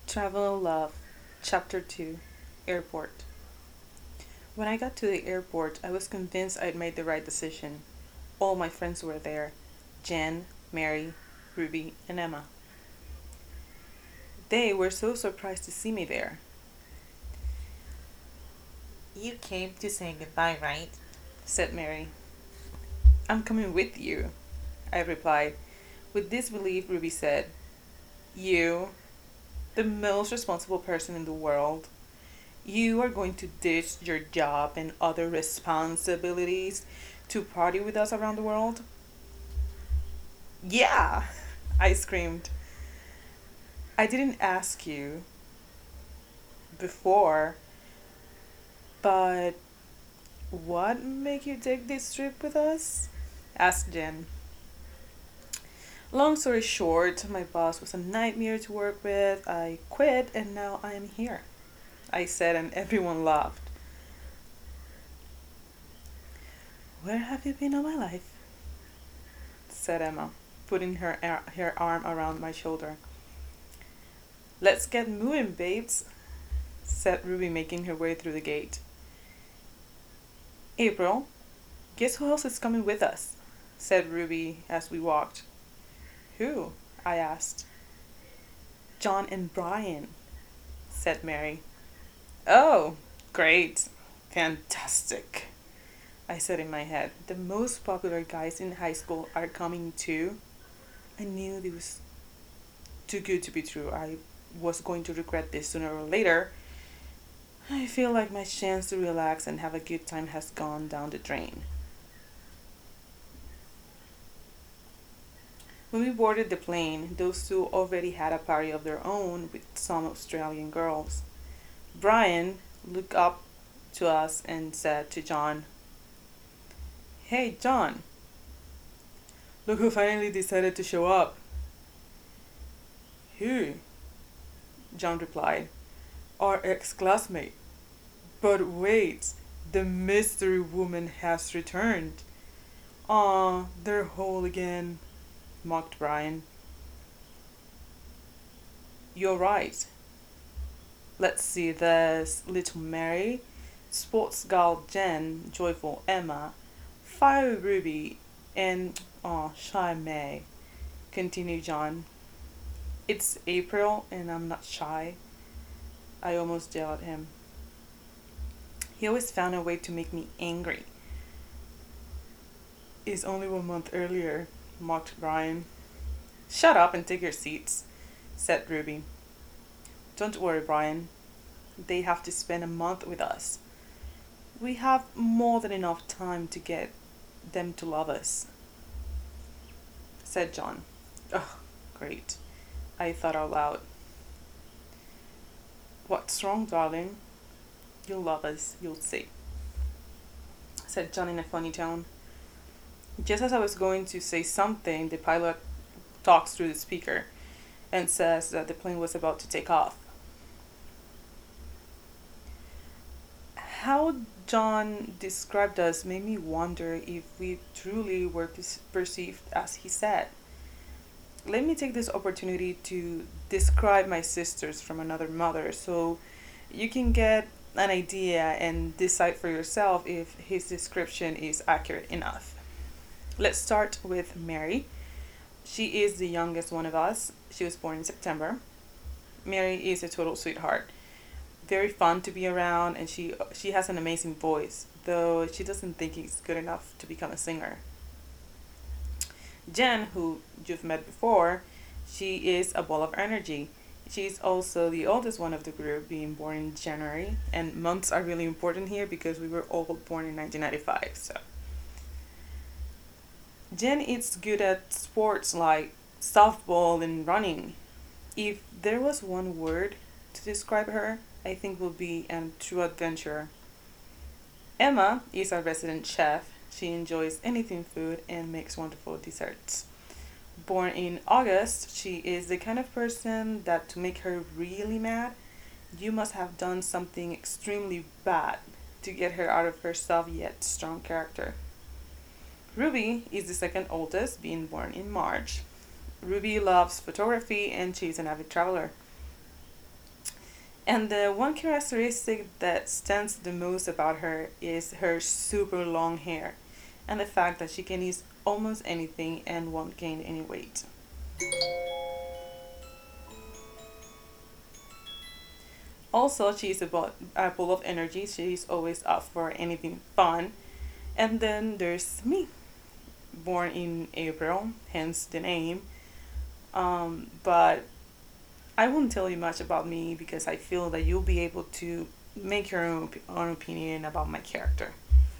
Travel Love, Chapter 2, Airport. When I got to the airport, I was convinced I'd made the right decision. All my friends were there: Jen, Mary, Ruby, and Emma. They were so surprised to see me there, You came to say goodbye, right? said Mary. I'm coming with you, I replied. With disbelief, Ruby said, You, the most responsible person in the world, you are going to ditch your job and other responsibilities to party with us around the world? Yeah, I screamed. I didn't ask you before, but what made you take this trip with us? Asked Jen. Long story short, my boss was a nightmare to work with. I quit and now I am here, I said, and everyone laughed. Where have you been all my life? Said Emma, putting her arm around my shoulder. Let's get moving, babes, said Ruby, making her way through the gate. April, guess who else is coming with us? Said Ruby as we walked. Who? I asked. John and Brian, said Mary. Oh, great. Fantastic, I said in my head. The most popular guys in high school are coming too. I knew it was too good to be true. I was going to regret this sooner or later. I feel like my chance to relax and have a good time has gone down the drain. When we boarded the plane, those two already had a party of their own with some Australian girls. Brian looked up to us and said to John, Hey, John, look who finally decided to show up. Who? John replied, Our ex classmate. But wait, the mystery woman has returned. Aw, they're whole again, mocked Brian. You're right. Let's see, there's Little Mary, Sports Girl Jen, Joyful Emma, Fire Ruby, and Shy May, continued John. It's April and I'm not shy. I almost yelled at him. He always found a way to make me angry. It's only 1 month earlier, mocked Brian. Shut up and take your seats, said Ruby. Don't worry, Brian. They have to spend a month with us. We have more than enough time to get them to love us, said John. Oh, great, I thought out loud. What's wrong, darling? You'll love us, you'll see, said John in a funny tone. Just as I was going to say something, the pilot talks through the speaker and says that the plane was about to take off. How John described us made me wonder if we truly were perceived as he said. Let me take this opportunity to describe my sisters from another mother so you can get an idea and decide for yourself if his description is accurate enough. Let's start with Mary. She is the youngest one of us. She was born in September. Mary is a total sweetheart, very fun to be around, and she has an amazing voice, though she doesn't think it's good enough to become a singer. Jen, who you've met before, she is a ball of energy. She's also the oldest one of the group, being born in January, and months are really important here because we were all born in 1995. So Jen is good at sports like softball and running. If there was one word to describe her, I think would be a true adventurer. Emma is our resident chef. She enjoys anything food and makes wonderful desserts. Born in August, she is the kind of person that to make her really mad, you must have done something extremely bad to get her out of her soft yet strong character. Ruby is the second oldest, being born in March. Ruby loves photography and she's an avid traveler. And the one characteristic that stands the most about her is her super long hair and the fact that she can eat almost anything and won't gain any weight. Also, she's a full of energy. She's always up for anything fun. And then there's me, born in April, hence the name. But I won't tell you much about me because I feel that you'll be able to make your own opinion about my character.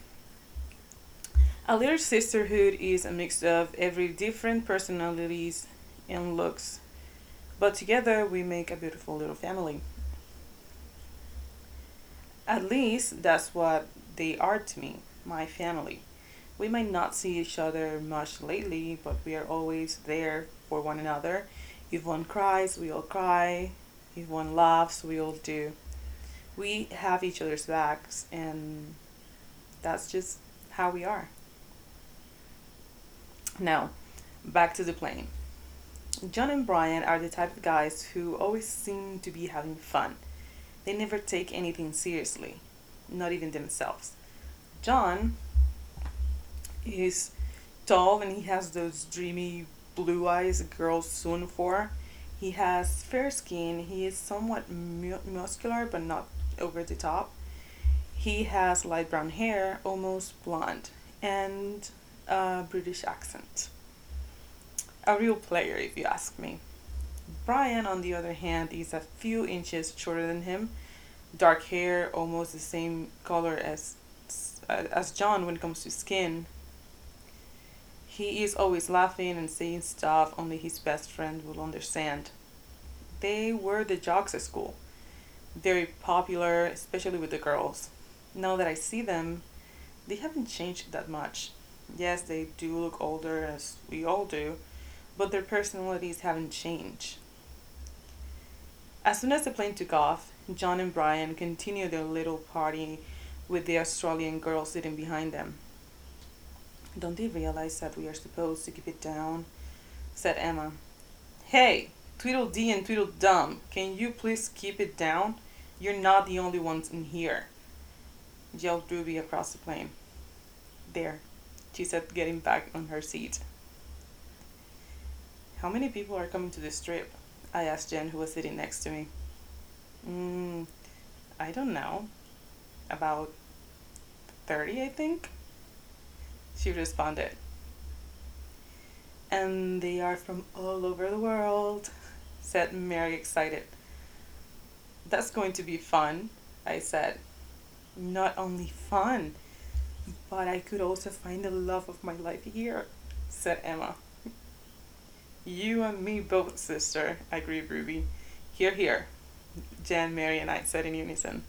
A little sisterhood is a mix of every different personalities and looks, but together we make a beautiful little family. At least that's what they are to me, my family. We might not see each other much lately, but we are always there for one another. If one cries, we all cry. If one laughs, we all do. We have each other's backs, and that's just how we are. Now, back to the plane. John and Brian are the type of guys who always seem to be having fun. They never take anything seriously, not even themselves. John is tall and he has those dreamy blue eyes girls soon for. He has fair skin. He is somewhat muscular but not over the top. He has light brown hair, almost blonde, and a British accent. A real player, if you ask me. Brian, on the other hand, is a few inches shorter than him, dark hair, almost the same color as John when it comes to skin. He is always laughing and saying stuff only his best friend will understand. They were the jocks at school, very popular, especially with the girls. Now that I see them, they haven't changed that much. Yes, they do look older, as we all do, but their personalities haven't changed. As soon as the plane took off, John and Brian continued their little party with the Australian girl sitting behind them. Don't they realize that we are supposed to keep it down? Said Emma. Hey, Tweedledee and Tweedledum, can you please keep it down? You're not the only ones in here, yelled Ruby across the plane. There, she said, getting back on her seat. How many people are coming to this trip? I asked Jen, who was sitting next to me. Mm, I don't know. About 30, I think, she responded. And they are from all over the world, said Mary, excited. That's going to be fun, I said. Not only fun, but I could also find the love of my life here, said Emma. You and me both, sister, agreed Ruby. Here, here, Jan, Mary, and I said in unison.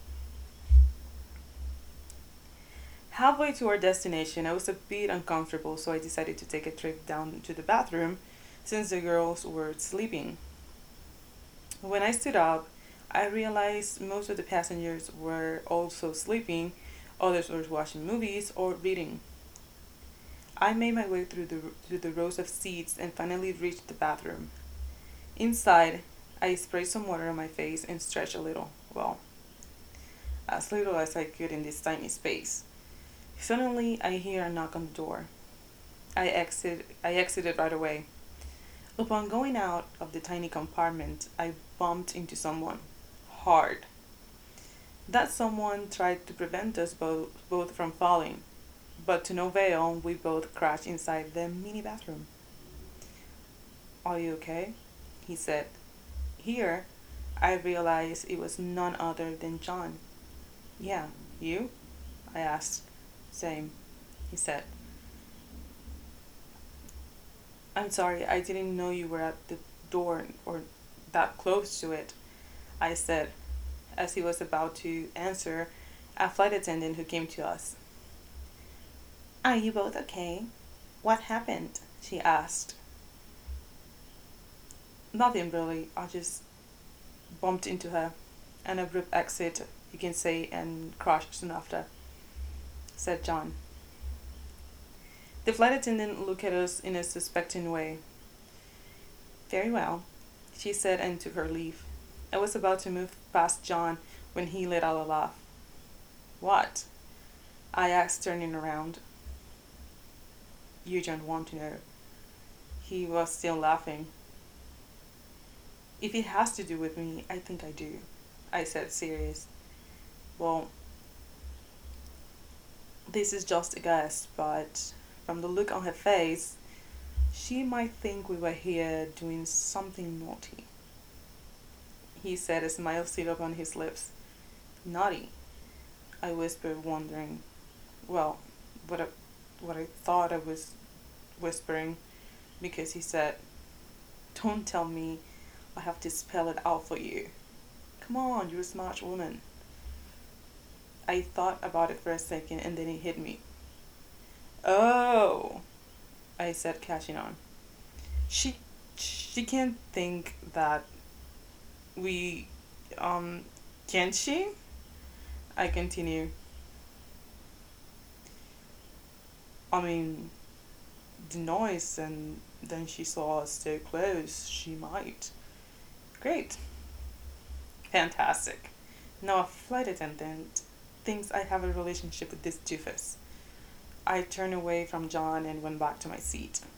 Halfway to our destination, I was a bit uncomfortable, so I decided to take a trip down to the bathroom since the girls were sleeping. When I stood up, I realized most of the passengers were also sleeping, others were watching movies or reading. I made my way through the rows of seats and finally reached the bathroom. Inside, I sprayed some water on my face and stretched a little. Well, as little as I could in this tiny space. Suddenly, I hear a knock on the door. I exited right away. Upon going out of the tiny compartment, I bumped into someone. Hard. That someone tried to prevent us both from falling, but to no avail, we both crashed inside the mini bathroom. Are you okay? He said. Here, I realized it was none other than John. Yeah, you? I asked. Same, he said. I'm sorry, I didn't know you were at the door or that close to it, I said, as he was about to answer a flight attendant who came to us. Are you both okay? What happened? She asked. Nothing really, I just bumped into her. An abrupt exit, you can say, and crashed soon after, said John. The flight attendant looked at us in a suspecting way. Very well, she said and took her leave. I was about to move past John when he let out a laugh. What? I asked, turning around. You don't want to know. He was still laughing. If it has to do with me, I think I do, I said, serious. Well, this is just a guess, but from the look on her face, she might think we were here doing something naughty. He said, a smile still upon his lips. Naughty? I whispered, wondering, well, what I thought I was whispering, because he said, don't tell me I have to spell it out for you. Come on, you're a smart woman. I thought about it for a second and then it hit me. Oh, I said, catching on. She she can't think that we um can she? I continue. I mean, the noise, and then she saw us so close, she might. Great. Fantastic. Now a flight attendant thinks I have a relationship with this doofus. I turned away from John and went back to my seat.